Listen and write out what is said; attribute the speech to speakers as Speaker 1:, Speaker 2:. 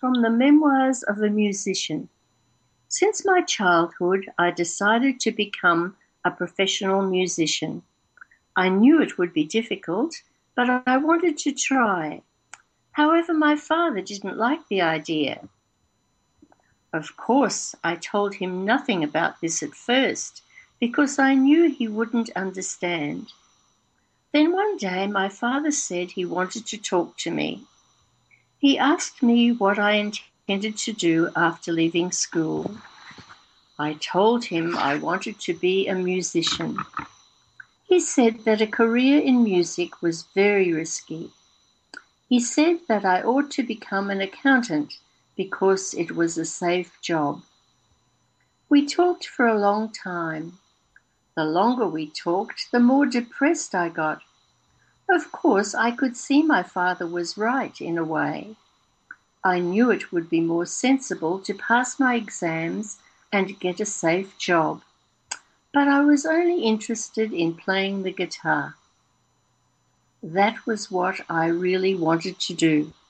Speaker 1: From the Memoirs of a Musician. Since my childhood, I decided to become a professional musician. I knew it would be difficult, but I wanted to try. However, my father didn't like the idea. Of course, I told him nothing about this at first, because I knew he wouldn't understand. Then one day my father said he wanted to talk to me. He asked me what I intended to do after leaving school. I told him I wanted to be a musician. He said that a career in music was very risky. He said that I ought to become an accountant because it was a safe job. We talked for a long time. The longer we talked, the more depressed I got. Of course, I could see my father was right in a way. I knew it would be more sensible to pass my exams and get a safe job, but I was only interested in playing the guitar. That was what I really wanted to do.